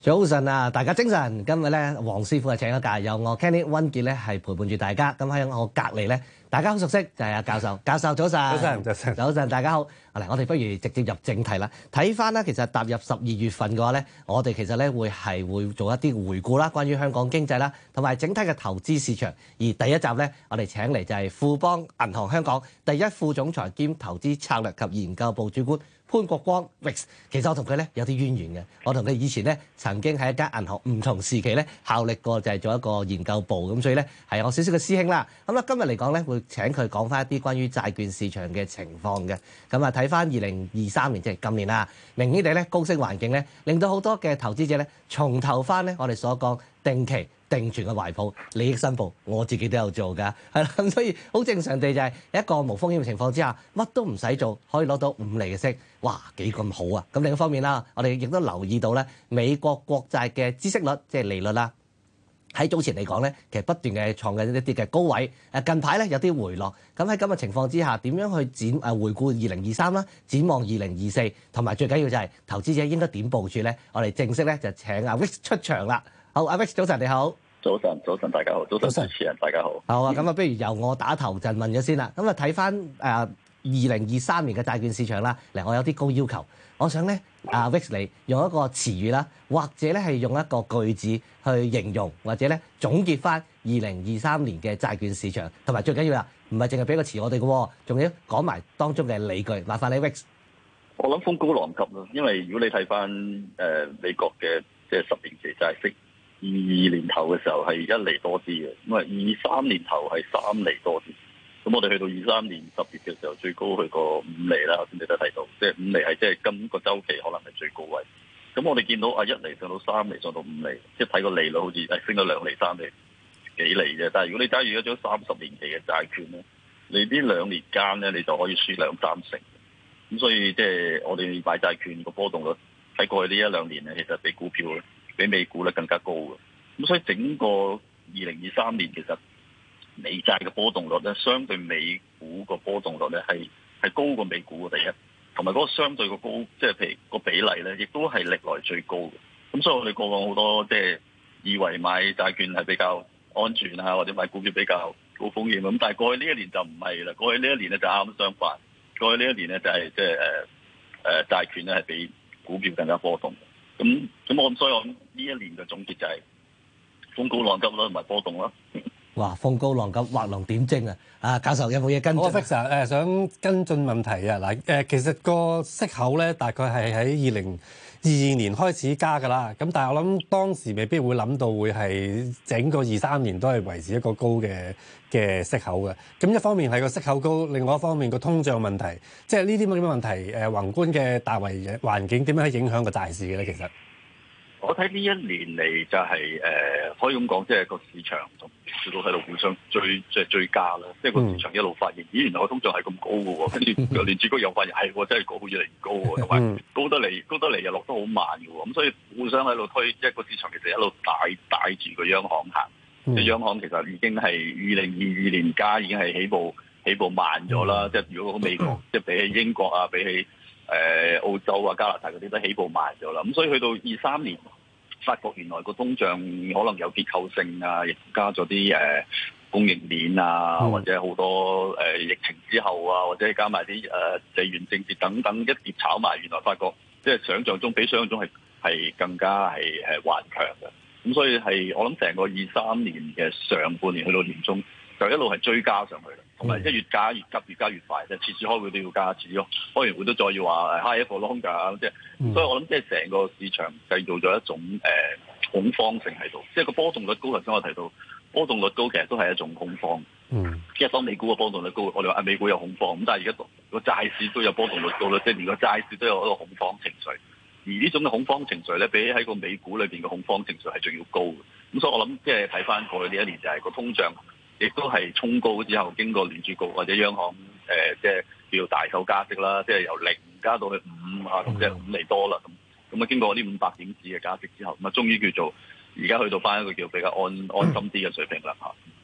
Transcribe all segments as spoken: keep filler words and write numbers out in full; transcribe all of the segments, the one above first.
早晨啊，大家精神。今日咧，黃師傅係請咗假，由我 Kenny 溫傑咧係陪伴住大家。咁喺我隔離咧，大家好熟悉就係阿教授。教授早晨， 早晨，早晨， 早晨，大家好。嚟，我哋不如直接入正題啦。睇翻咧，其實踏入十二月份嘅話咧，我哋其實咧會係會做一啲回顧啦，關於香港經濟啦，同埋整體嘅投資市場。而第一集咧，我哋請嚟就係富邦銀行香港第一副總裁兼投資策略及研究部主管潘國光 Rex。其實我同佢咧有啲淵源嘅，我同佢以前咧曾經喺一間銀行唔同時期咧效力過，就係做一個研究部，咁所以咧係我少少嘅師兄啦。咁啦，今日嚟講咧會請佢講翻一啲關於債券市場嘅情況嘅。咁啊睇翻二零二三年即係今年啦，明顯地咧高息環境咧令到好多嘅投資者咧重投翻咧我哋所講定期定存嘅懷抱，利益申報我自己都有做㗎，係啦，咁所以好正常地就係一個無風險嘅情況之下，乜都唔使做，可以攞到五厘嘅息，哇幾咁好啊！咁另一方面啦，我哋亦都留意到咧，美國國債嘅孳息率即係利率啦，喺早前嚟講咧，其實不斷嘅創緊一啲嘅高位，誒近排咧有啲回落。咁喺咁嘅情況之下，點樣去展誒回顧二零二三啦，展望二零二四，同埋最緊要就係投資者應該點部署咧？我哋正式咧就請阿 Rex 出場啦。好，阿 Rex 早晨你好。 早晨，早晨，大家好，早晨主持人大家好。 好啊，咁啊，不如由我打頭陣問咗先啦。咁啊，睇翻誒二零二三年嘅債券市場啦。嚟，我有啲高要求，我想咧，阿 Rex 你用一個詞語啦，或者咧係用一個句子去形容，或者咧總結翻二零二三年嘅債券市場，同埋最緊要啦，唔係淨係俾個詞我哋嘅，仲要講埋當中嘅理據。麻煩你 Rex。 我諗風高浪急咯，因為如果你睇翻誒美國嘅即係十年期債息。二二年頭嘅時候係一厘多啲嘅，咁啊二三年頭係三厘多啲，咁我哋去到二三年十月嘅時候最高去過五厘啦，頭先你都睇到，即係五厘係即係今個週期可能係最高位。咁我哋見到啊一厘上到三厘，上到五厘，即係睇個利率好似係升咗兩厘、三厘、幾厘啫。但係如果你揸住一張三十年期嘅債券咧，你呢兩年間咧你就可以輸兩三成。咁所以即係我哋買債券個波動率喺過去呢一兩年咧，其實比股票咧，比美股咧更加高嘅，咁所以整個二零二三年其實美債嘅波動率咧，相對美股個波動率咧係係高過美股嘅第一，同埋嗰個相對個高，即係譬如個比例咧，亦都係歷來最高嘅。咁所以我哋過往好多即係以為買債券係比較安全啊，或者買股票比較高風險咁，但係過去呢一年就唔係啦，過去呢一年咧就啱啱相反，過去呢一年咧就係即係誒誒債券咧係比股票更加波動。咁咁我咁所以我呢一年嘅總結就係風高浪急咯，同埋波動咯。 哇，風高浪急，畫龍點睛啊！啊，教授有冇嘢跟進？ 我 Rex 誒想跟進問題啊！嗱誒，其實個息口咧大概係喺二零二二年開始加㗎啦。咁但係我諗當時未必會諗到會係整個二三年都係維持一個高嘅嘅息口嘅。咁一方面係個息口高，另外一方面個通脹問題，即係呢啲咁嘅問題誒，宏觀嘅大圍環境點樣去影響個債市嘅咧？其實我睇呢一年嚟就係、是、誒、呃，可以咁講，即係個市場同市都喺度互相追，即係追加啦。即係個市場一路發現，咦，原來個通脹係咁高嘅喎，跟住聯儲局又發現係喎，真係高，越嚟越高喎，同埋高得嚟，高得嚟又落得好慢嘅喎。咁所以互相喺度推，即係個市場其實一路帶帶住個央行行。即係央行其實已經係二零二二年加已經係起步起步慢咗啦。即係如果美國即係比起英國啊，比起誒澳洲啊、加拿大嗰啲都起步慢咗啦，咁所以去到二三年，發覺原來個通脹可能有結構性啊，亦加咗啲誒供應鏈啊，或者好多誒、呃、疫情之後啊，或者加埋啲誒地緣政治等等一碟炒埋，原來發覺即係想像中比想像中係係更加係係頑強嘅，咁所以係我諗成個二三年嘅上半年去到年中，就一路係追加上去啦，同埋即係越加越急，越加越快。即係次次開會都要加，次次開完會都再要話 high for longer，即係，嗯、所以我諗即係成個市場製造咗一種誒、呃、恐慌性喺度。即係個波動率高，頭先我提到波動率高，其實都係一種恐慌。嗯，即係當美股嘅波動率高，我哋話啊美股有恐慌，咁但係而家個債市都有波動率高啦，即係連個債市都有一個恐慌情緒。而呢種嘅恐慌情緒咧，比起喺個美股裏邊嘅恐慌情緒係仲要高嘅。咁所以我諗即係睇翻過去呢一年就係個通脹。亦都係衝高之後，經過聯儲局或者央行誒，即係叫大手加息啦，即係由零加到去五啊，即係五厘多啦。咁咁啊，經過呢五百點子嘅加息之後，咁啊，終於叫做而家去到翻一個叫比較安安心啲嘅水平啦嚇。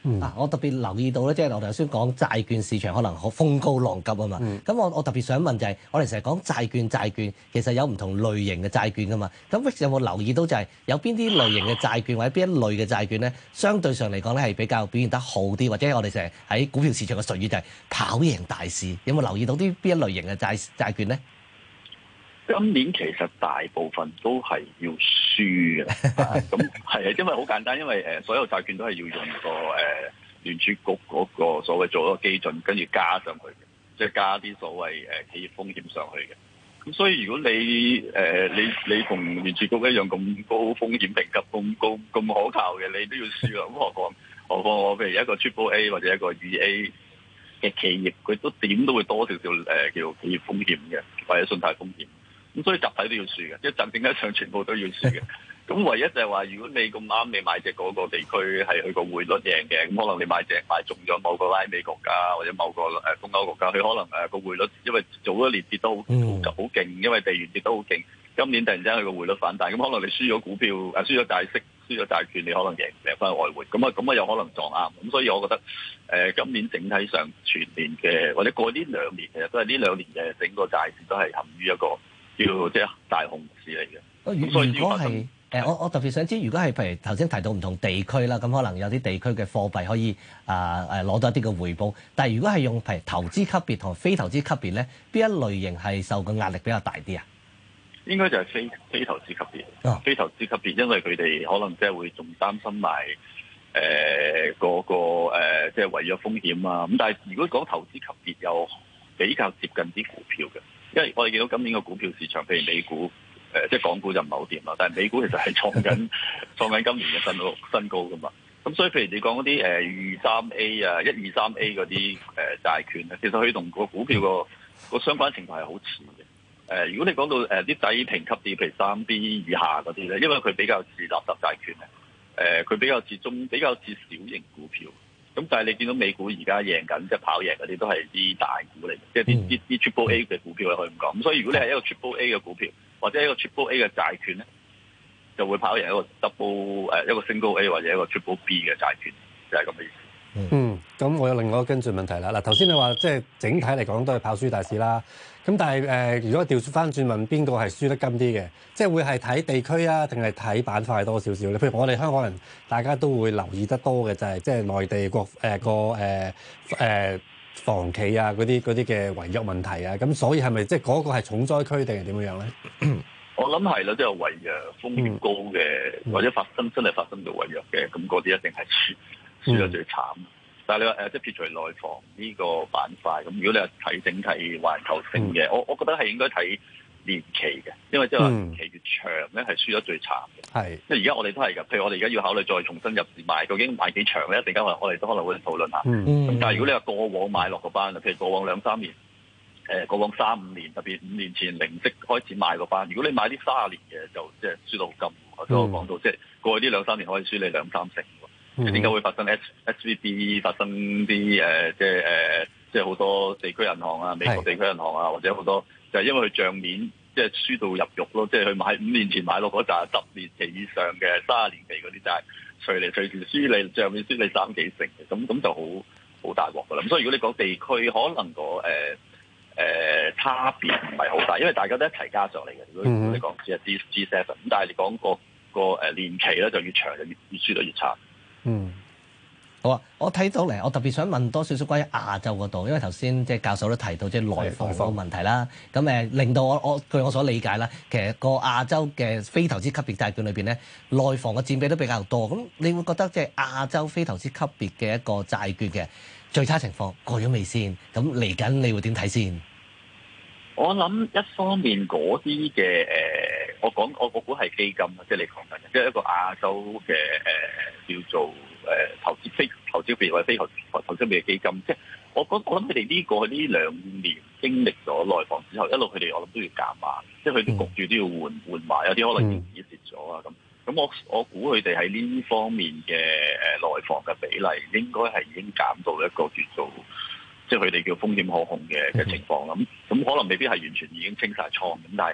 嗯、 啊，我特別留意到咧，即係我頭先講債券市場可能好風高浪急啊嘛。咁、嗯、我我特別想問就係、是，我哋成日講債券債券，其實有唔同類型嘅債券噶嘛。咁 Vic 有冇留意到就係有邊啲類型嘅債券或者邊一類嘅債券咧，相對上嚟講咧係比較表現得好啲，或者我哋成日喺股票市場嘅術語就係跑贏大市。有冇留意到啲邊一類型嘅債債券咧？ 今年其實大部分都係要輸嘅，咁係啊，因為好簡單，因為誒所有債券都係要用個誒聯儲局嗰個所謂做一個基準，跟住加上去嘅，即係加啲所謂誒企業風險上去嘅。咁所以如果你誒、呃、你你同聯儲局一樣咁高風險評級、咁高咁可靠嘅，你都要輸啦。咁何況何況我譬如一個 Triple A 或者一個二 A 嘅企業，佢都點都會多少少誒叫企業風險嘅，或者信貸風險。咁所以集體都要輸嘅，即係整整體上全部都要輸嘅。咁唯一就係話，如果你咁啱你買隻嗰個地區係佢個匯率贏嘅，咁可能你買隻買中咗某個拉美國家或者某個誒東歐國家，佢可能誒個匯率因為早一年跌得好好勁，因為地緣跌得好勁，今年突然之間佢個匯率反彈，咁可能你輸咗股票誒輸咗債息、輸咗債券，你可能贏贏翻外匯，咁啊咁啊有可能撞啱。咁所以我覺得誒、呃、今年整體上全年嘅或者過呢兩年其實都係呢兩年嘅整個債市都係陷於一個叫即係大熊市嚟嘅。所以如果係誒，我我特別想知，如果係譬如頭先提到唔同地區啦，咁可能有啲地區嘅貨幣可以啊誒攞到一啲嘅回報。但係如果係用譬如投資級別同非投資級別咧，邊一類型係受個壓力比較大啲啊？ 應該就係非非投資級別。哦、非投資級別，因為佢哋可能即係會仲擔心埋誒嗰個誒即係違約風險啊。咁但係如果講投資級別，又比較接近啲股票嘅，因為我哋見到今年個股票市場，譬如美股。誒即係港股就唔係好掂啦，但係美股其實係創緊創緊今年嘅新高新高噶嘛。咁所以譬如你講嗰啲誒二三 A 啊、一二三 A 嗰啲誒債券咧，其實佢同個股票個個相關程度係好似嘅。誒、呃，如果你講到誒啲低評級啲，譬如三 B 以下嗰啲咧，因為佢比較似垃圾債券咧，誒、呃、佢比較似中比較似小型股票。咁但係你見到美股而家贏緊，即係跑贏嗰啲都係啲大股嚟嘅，即係啲啲啲 Triple A 嘅股票咧，可以咁講。咁所以如果你係一個 Triple A 嘅股票，或者一個 Triple A 嘅債券咧，就會跑贏一個 Double 誒一個 Single A 或者一個 Triple B 嘅債券，就係咁嘅意思。 嗯，咁我有另外一個跟進問題啦。嗱，頭先你話即係整體嚟講都係跑輸大市啦。咁但係誒、呃，如果調翻轉問邊個係輸得金啲嘅，即係會係睇地區啊，定係睇板塊多少少咧？譬如我哋香港人，大家都會留意得多嘅就係即係內地國誒個誒誒房企啊嗰啲嗰啲嘅違約問題啊。咁所以係咪即係嗰個係重災區定係點樣樣咧？ 我諗係啦，即係違約風險高嘅，嗯、或者發生真係發生到違約嘅，咁嗰啲一定係輸輸得最慘。嗯但係你話誒，即係撇除內房呢個板塊，咁如果你係睇整體環球性嘅，嗯、我我覺得係應該睇年期嘅，因為即係話年期越長咧，係輸得最慘嘅。係、嗯，即係而家我哋都係㗎。譬如我哋而家要考慮再重新入市買，究竟買幾長咧？一陣間我哋都可能會討論下。咁、嗯、但係如果你話過往買落個班，譬如過往兩三年，誒過往三五年，特別五年前零息開始買個班，如果你買啲卅年嘅，就即係輸到好金。頭先我講到，即係過去呢兩三年可以輸你兩三成。點解、嗯、會發生 S V B 發生啲誒、呃、即係誒、呃、即係好多地區銀行啊、美國地區銀行啊，或者好多就係、是、因為佢帳面即係輸到入肉咯，即係佢買五年前買落嗰紮十年期以上嘅三十年期嗰啲債，隨嚟隨時輸你帳面輸你三幾成嘅，咁咁就好好大鑊噶啦。咁所以如果你講地區，可能個誒誒差別唔係好大，因為大家都一齊加上嚟嘅。如果你講只係 G G seven，咁但係你講個個誒年期咧就越長就越越輸得越差。 嗯，好啊！我睇到嚟，我特別想問多少少關於亞洲嗰度，因為頭先即係教授都提到即係內房嗰個問題啦。咁誒令到我我據我所理解啦，其實個亞洲嘅非投資級別債券裏邊咧，內房嘅佔比都比較多。咁你會覺得即係亞洲非投資級別嘅一個債券嘅最差情況過咗未先？咁嚟緊你會點睇先？ 我諗一方面嗰啲嘅誒，我講我我估係基金啊，即係你講緊嘅，即係一個亞洲嘅誒、呃、叫做誒、呃、投資非投資別或者非投投資別嘅基金，即係我覺我諗佢哋呢個呢兩年經歷咗內房之後，一路佢哋我諗都要減碼，即係佢哋焗住都要換換埋，有啲可能已經蝕咗啊咁。咁我我估佢哋喺呢方面嘅誒內房嘅比例，應該係已經減到一個叫做。即係佢哋叫風險可控嘅嘅情況啦，咁咁可能未必係完全已經清晒倉咁，但係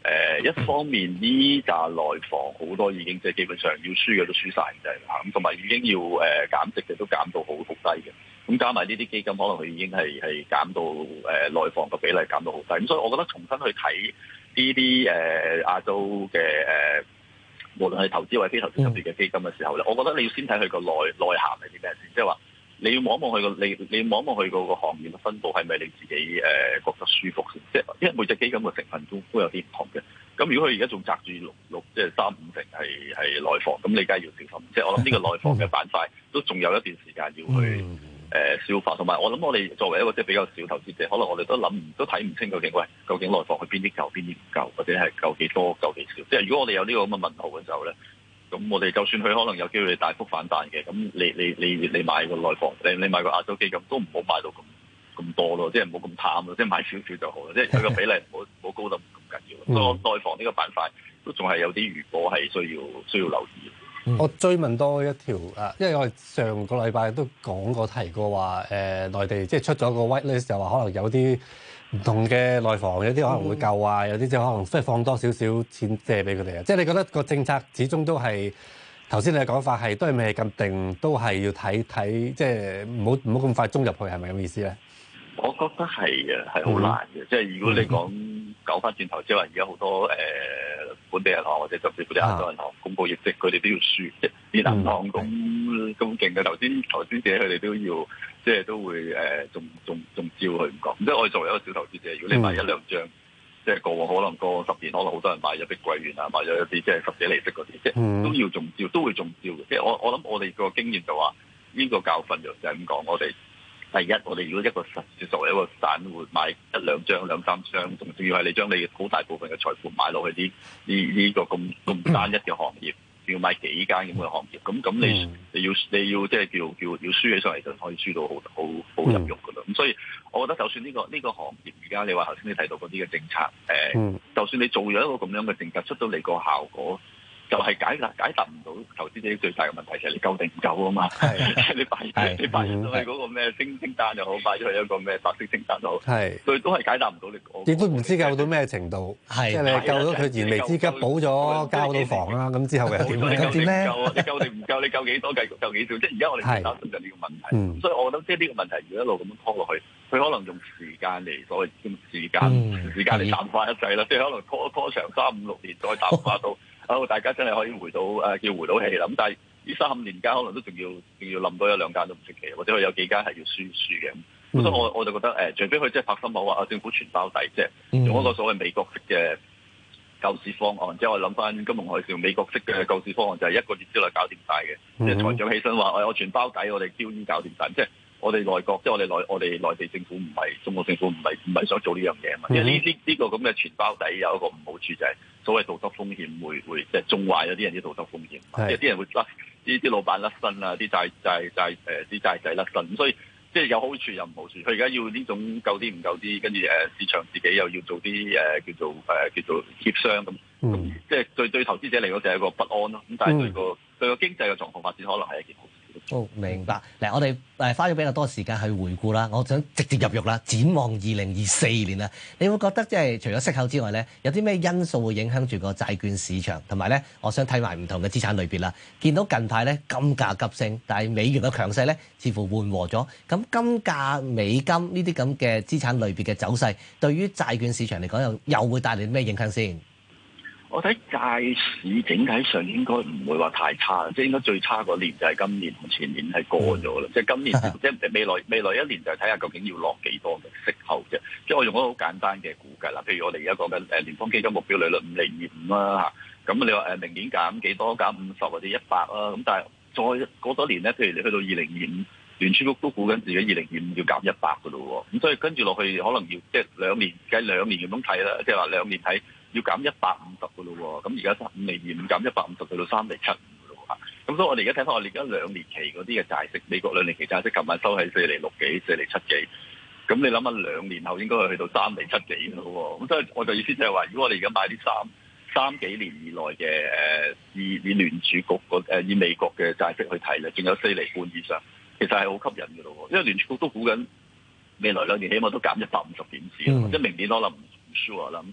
呃、一方面呢紮內房好多已經即係基本上要輸嘅都輸晒嘅啦，咁同埋已經要誒、呃、減值嘅都減到好好低嘅。咁加埋呢啲基金，可能佢已經係係減到誒、呃、內房嘅比例減到好低。咁所以我覺得重新去睇呢啲誒亞洲嘅誒、呃，無論係投資或者非投資級別嘅基金嘅時候咧，我覺得你要先睇佢個內內涵係啲咩先，即係話。你要望一望佢個你你望一望佢個個行業嘅分佈係咪你自己誒、呃、覺得舒服先？即係因為每隻基金嘅成分都都有啲唔同嘅。咁如果佢而家仲擲住六六即係三五成係係內房，咁你梗係要小心。即係我諗呢個內房嘅板塊都仲有一段時間要去誒、呃、消化。同埋我諗我哋作為一個即係比較少投資者，可能我哋都諗都睇唔清究竟喂究竟內房去邊啲夠邊啲唔夠，或者係夠幾多夠幾少？即係如果我哋有呢個咁嘅問號嘅時候咧。咁我哋就算佢可能有機會大幅反彈嘅，咁你你你你買個內房，你你買個亞洲基金都唔好買到咁咁多咯，即係唔好咁貪咯，即係買少少就好啦，即係佢個比例唔好唔好高得咁緊要。所以我內房呢個板塊都仲係有啲餘波係需要需要留意。 嗯、我追問多一條啊，因為我哋上個禮拜都講過提過話，誒、呃、內地即係出咗個 white list，就話可能有啲唔同嘅內房，有啲可能會救啊，有啲即係可能即係放多少少錢借俾佢哋啊。即係你覺得個政策始終都係頭先你嘅講法係都係未咁定，都係要睇睇，即係唔好唔好咁快衝入去，係咪咁意思咧？ 我覺得係嘅，係好難嘅。嗯、即係如果你講講翻轉頭，即係話而家好多誒、呃、本地銀行或者甚至乎啲亞洲銀行公佈業績，佢哋都要輸。即係啲銀行咁咁勁嘅，頭先投資者佢哋都要，即係都會誒，仲仲仲照佢唔講。即係我哋作為一個小投資者，如果你買一兩張，嗯、即係過往可能過十年，可能好多人買咗碧桂園啊，買咗一啲即係十幾厘息嗰啲，即係都要中招，都會中招嘅。即係我我諗我哋個經驗就話，呢、這個教訓就就係咁講，我哋。第一，我哋如果一個實作為一個散戶買一兩張、兩三張，仲仲要係你將你好大部分嘅財富買落去啲呢呢個咁咁單一嘅行業，要買幾間咁嘅行業，咁咁你你要你要即係叫叫要輸起上嚟就可以輸到好好好入肉噶啦。咁所以，我覺得就算呢、這個呢、這個行業而家你話頭先你提到嗰啲嘅政策，誒、呃，就算你做咗一個咁樣嘅政策出到嚟個效果。就係解答解答唔到投資者最大嘅問題，就係你夠定唔夠啊嘛？係你擺你擺咗去嗰個咩清清單又好，擺咗去一個咩白色清單又好，係對都係解答唔到你。亦都唔知救到咩程度，係即係你救到佢燃眉之急，補咗交到房啦，咁之後嘅點咧？點咧？你救定唔夠？你救幾多？繼續救幾少？即係而家我哋擔心緊呢個問題，所以我覺得即係呢個問題如果一路咁樣拖落去，佢可能用時間嚟所謂用時間時間嚟淡化一切啦，即係可能拖拖長三五六年再淡化到。好，大家真係可以回到誒、呃，叫回到氣啦。咁但係呢三五年間，可能都仲要仲要冧多一兩間都唔出奇，或者佢有幾間係要輸輸嘅。咁、嗯、所以我我就覺得誒、呃，除非佢即係拍心口話啊，政府全包底，即係用一個所謂美國式嘅救市方案。即係我諗翻金融海嘯，美國式嘅救市方案就係一個月之內搞掂晒嘅。嗯、即係財長起身話：我我全包底，我哋 Q E 搞掂晒。即係我哋內國，即係我哋內我哋內地政府唔係中國政府唔係唔係想做呢樣嘢啊嘛。因為呢呢呢個咁嘅全包底有一個唔好處就係、是。所謂道德風險會會即係縱壞咗啲人啲道德風險，即係啲人會甩啲啲老闆甩身啊，啲債債債誒啲債仔甩身，所以即係有好處又唔好處。佢而家要呢種夠啲唔夠啲，跟住誒市場自己又要做啲誒、呃、叫做誒、呃、叫做協商咁，咁、嗯、即係對對投資者嚟講就係一個不安咯。咁但係對個、嗯、對個經濟嘅狀況發展可能係一件好事。 哦，明白。嗱，我哋誒花咗比較多時間去回顧啦，我想直接入肉啦，展望二零二四年啦，你會覺得即係除咗息口之外咧，有啲咩因素會影響住個債券市場？同埋咧，我想睇埋唔同嘅資產類別啦。見到近排咧金價急升，但係美元嘅強勢咧似乎緩和咗。咁金價、美金呢啲咁嘅資產類別嘅走勢，對於債券市場嚟講又又會帶嚟咩影響先？ 我睇債市整體上應該唔會話太差，即係應該最差嗰年就係今年同前年係過咗啦。嗯、即係今年即係未來未來一年就係睇下究竟要落幾多嘅息口啫。即係我用一個好簡單嘅估計啦，譬如我哋而家講緊誒聯邦基金目標利率五厘二五啦嚇，咁你話誒明年減幾多？減五十或者一百啦。咁但係再過多年咧，譬如你去到二零二五，聯儲局都估緊自己二零二五要減一百嘅咯喎。咁所以跟住落去可能要即係兩年計兩年咁樣睇啦，即係話兩年睇。要減一百五十嘅咯喎，咁而家三五厘二五減一百五十去到三厘七五嘅咯喎，咁所以我哋而家睇翻我哋而家兩年期嗰啲嘅債息，美國兩年期債息琴晚收喺四厘六幾、四厘七幾，咁你諗下兩年後應該係去到三厘七幾嘅咯喎，咁所以我就意思就係話，如果我哋而家買啲三三幾年以內嘅誒以以聯儲局誒以美國嘅債息去睇咧，仲有四厘半以上，其實係好吸引嘅咯喎，因為聯儲局都估緊未來兩年起碼都減一百五十點子，即係、嗯、明年可能唔 sure 啦，咁但係。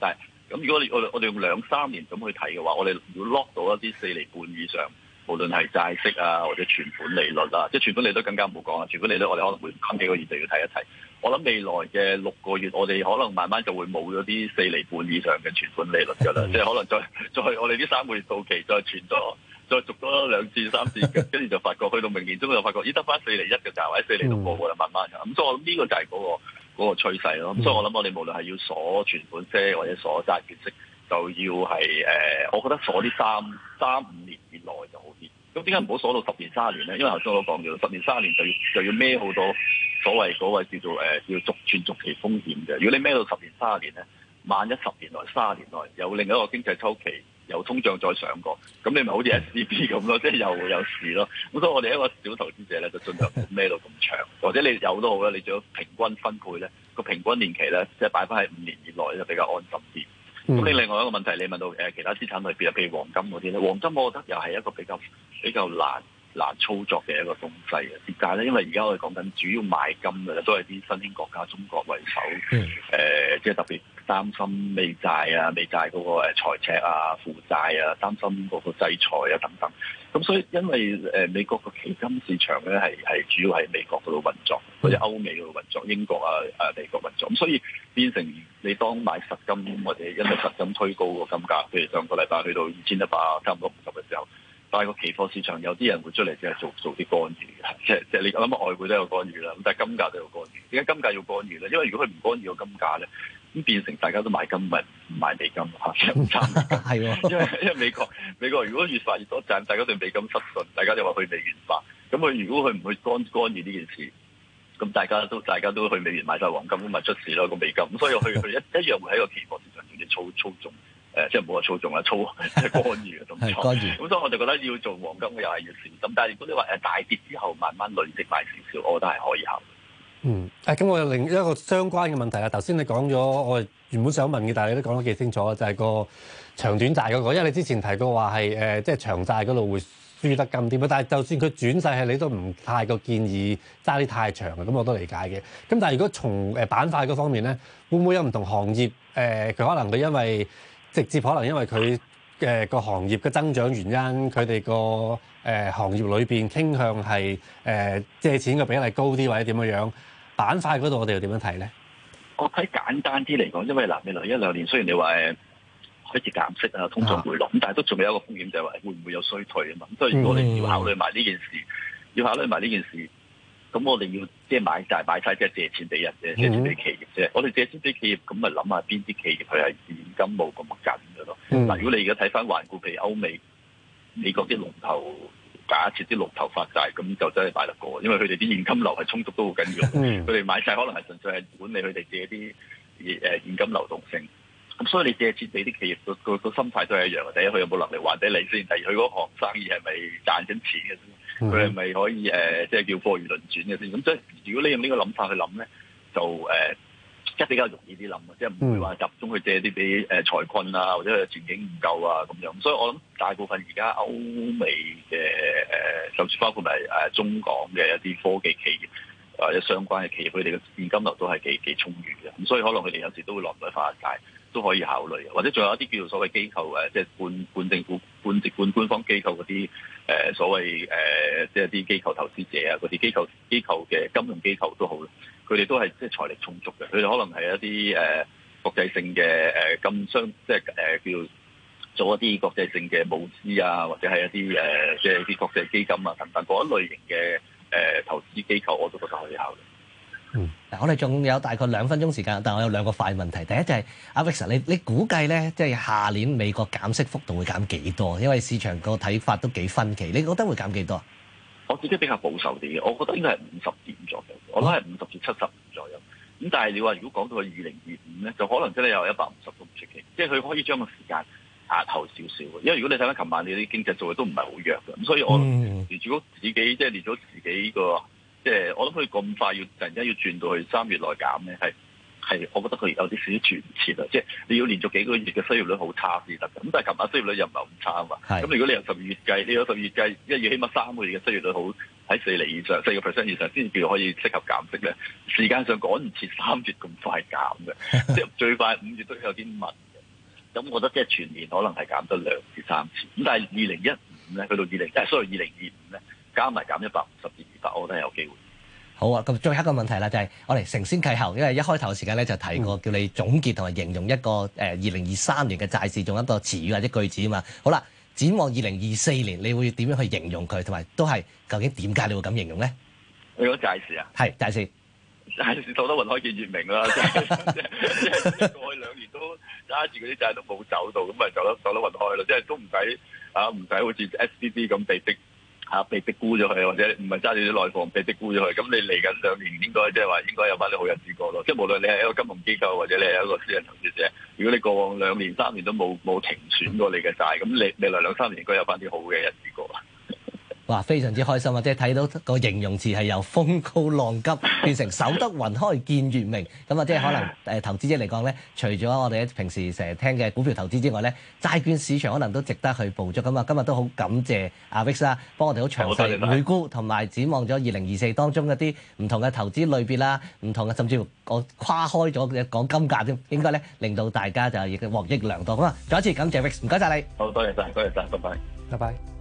咁如果你我哋我哋用兩三年咁去睇嘅話，我哋如果 lock 到一啲四厘半以上，無論係債息啊或者存款利率啊，即係存款利率更加唔好講啦。存款利率我哋可能會近幾個月就要睇一睇。我諗未來嘅六個月，我哋可能慢慢就會冇咗啲四厘半以上嘅存款利率㗎啦。即係可能再再我哋呢三個月到期再存咗，再續多兩次三次，跟住就發覺去到明年中就發覺咦得翻四厘一嘅價，或者四厘六個㗎啦，慢慢咁。所以我諗呢個就係嗰個嗰個趨勢咯。咁所以我諗我哋無論係要鎖存款息或者鎖債券息，就要係誒、呃，我覺得鎖啲三三五年以內就好啲。咁點解唔好鎖到十年、三十年咧？因為頭先我都講咗，十年、三十年就要就要孭好多所謂嗰個叫做誒、呃、叫續存續期風險嘅。如果你孭到十年、三十年咧，萬一十年內、三十年內有另一個經濟周期，有通脹再上過，咁你咪好似 S C B 咁咯，即係又有事咯。咁所以我哋一個小投資者咧，就盡量唔好孭到咁長，或者你有都好啦，你最好平均分配咧，個平均年期咧，即係擺翻喺五年以內就比較安心啲。咁你、嗯、另外一個問題，你問到誒其他資產類別，譬如黃金嗰啲咧，黃金我覺得又係一個比較比較難難操作嘅一個東西嘅。點解咧？因為而家我哋講緊主要買金嘅都係啲新興國家，中國為首，誒、嗯呃、即係特別擔心美債啊、美債嗰個誒財赤啊、負債啊，擔心嗰個制裁啊等等。咁所以因為誒美國個期金市場咧係係主要喺美國嗰度運作，或者歐美嗰度運作，英國啊誒美國運作，咁所以變成你當買實金或者因為實金推高個金價，譬如上個禮拜去到二千一百差唔多五十嘅時候，但係個期貨市場有啲人會出嚟即係做做啲干預嘅，即係即係你諗下外匯都有干預啦，咁但係金價都有干預。點解金價要干預咧？因為如果佢唔干預個金價咧，咁變成大家都買金咪唔買美金嚇，即係唔參美金。係喎，因為因為美國美國如果越發越多賺，大家對美金失信，大家就話去美元化。咁佢如果佢唔去干干預呢件事，咁大家都大家都去美元買晒黃金，咁咪出事咯個美金。咁所以佢佢一一樣會喺個期貨市場做啲操操縱，誒、呃、即係冇話操縱啦，操即係干預嘅動作。干預。咁所以我就覺得要做黃金嘅又係要小心。但係如果你話誒大跌之後慢慢累積買少少，我覺得係可以考慮。 嗯，誒、啊、咁我有另一個相關嘅問題啊。頭先你講咗，我原本想問嘅，但係你都講得幾清楚，就係、是、個長短債嗰、那個。因為你之前提過話係誒，即係長債嗰度會輸得咁啲，但係就算佢轉勢係，你都唔太過建議揸啲太長嘅，咁我都理解嘅。咁但係如果從誒板塊嗰方面咧，會唔會有唔同行業誒？佢、呃、可能佢因為直接可能因為佢誒個行業嘅增長原因，佢哋個誒行業裏邊傾向係誒、呃、借錢嘅比例高啲，或者點樣樣？板塊嗰度我哋又點樣睇咧？ 我睇簡單啲嚟講，因為嗱未來一兩年雖然你話誒開始減息啊，通脹回落，咁、啊、但係都仲有一個風險就係話會唔會有衰退啊嘛。咁所以如果你要考慮埋呢件事，嗯、要考慮埋呢件事，咁我哋要即係買債買債即係借錢俾人啫，借錢俾企業啫。嗯、我哋借錢俾企業，咁咪諗下邊啲企業佢係現金冇咁緊嘅咯。嗱、嗯，如果你而家睇翻環顧，譬如歐美、美國啲龍頭。假設啲龍頭發債，咁就真係買得過，因為佢哋啲現金流係充足都好緊要。佢哋、嗯、買債可能係純粹係管理佢哋自己啲誒現金流動性。咁所以你借錢俾啲企業個個個心態都係一樣嘅。第一，佢有冇能力還俾你先；第二，佢嗰行生意係咪賺緊錢嘅先？佢係咪可以誒、呃，即係叫貨如輪轉嘅先？咁即係如果你用呢個諗法去諗咧，就誒。呃即係比較容易啲諗，即係唔會話集中去借啲俾誒財困啊，或者前景唔夠啊咁樣。所以我諗大部分而家歐美嘅誒，甚至包括埋誒中港嘅一啲科技企業或者相關嘅企業，佢哋嘅現金流都係幾幾充裕嘅。咁所以可能佢哋有時都會落嚟發債，都可以考慮。或者仲有一啲叫做所謂機構誒，即係半半政府、半直半官方機構嗰啲誒所謂誒、呃，即係啲機構投資者啊，嗰啲機構機構嘅金融機構都好。佢哋都係即係財力充足嘅，佢哋可能係一啲誒、呃、國際性嘅誒金商，即係誒、呃、叫做一啲國際性嘅募資啊，或者係一啲誒、呃、即係啲國際基金啊等等嗰一類型嘅誒、呃、投資機構，我都覺得可以考慮。 嗯，嗱，我哋仲有大概兩分鐘時間，但係我有兩個快問題。第一就係阿 Victor，你你估計咧，即係下年美國減息幅度會減幾多？因為市場個睇法都幾分歧，你覺得會減幾多？ 我自己比較保守啲嘅，我覺得應該係五十點左右，我諗係五十至七十左右。咁但係你話如果講到去二零二五咧，就可能真係有一百五十都唔出奇，即係佢可以將個時間壓後少少。因為如果你睇翻琴晚你啲經濟數據都唔係好弱嘅，咁所以我連住自己即係連咗自己個，即係我諗佢咁快要突然間要轉到去三月內減咧，係。係，我覺得佢有啲少少轉唔切啊！即係你要連續幾個月嘅失業率好差先得嘅。咁但係琴晚失業率又唔係咁差啊嘛。咁是如果你由十二月計，你由十二月計，一月起碼三個月嘅失業率好喺四厘以上，四個 percent 以上先至叫可以適合減息咧。時間上趕唔切三月咁快減嘅，即係最快五月都有啲問嘅。 咁我覺得即係全年可能係減得兩至三次。咁但係二零一五咧，去到二零，即係所謂二零二五咧，加埋減一百五十至二百，我覺得係有機會。 好啊，咁最後一個問題啦，就係、是、我哋承先啟後，因為一開頭嘅時間咧就提過叫你總結同埋形容一個誒二零二三年嘅債市，用一個詞語或者句子啊嘛。好啦，展望二零二四年，你會點樣去形容佢，同埋都係究竟點解你會咁形容咧？ 你講債市啊？係債市， 債市走得雲開見月明啦，即係即係即係過去兩年都揸住嗰啲債都冇走到，咁咪走得走得雲開咯，即係都唔使啊，唔使好似 S D D 咁被逼。嚇被逼沽咗佢，或者唔係揸住啲內房被逼沽咗佢，咁你嚟緊兩年應該即係話應該有翻啲好日子過咯。即係無論你係一個金融機構或者你係一個私人投資者，如果你過往兩年三年都冇冇停損過你嘅債，咁你未來兩三年應該有翻啲好嘅日子過啦。 哇！非常之開心啊！即係睇到個形容詞係由風高浪急變成守得雲開見月明。咁啊，即係可能誒、呃、投資者嚟講咧，除咗我哋平時成日聽嘅股票投資之外咧，債券市場可能都值得去捕捉。咁啊，今日都好感謝阿 Vic 啦，幫我哋好詳細回顧同埋展望咗二零二四當中一啲唔同嘅投資類別啦，唔同嘅甚至乎我跨開咗嘅講金價添，應該咧令到大家就亦獲益良多。咁啊，再一次感謝 Vic，唔該晒你。 好多謝晒，多謝晒，拜拜， 拜拜。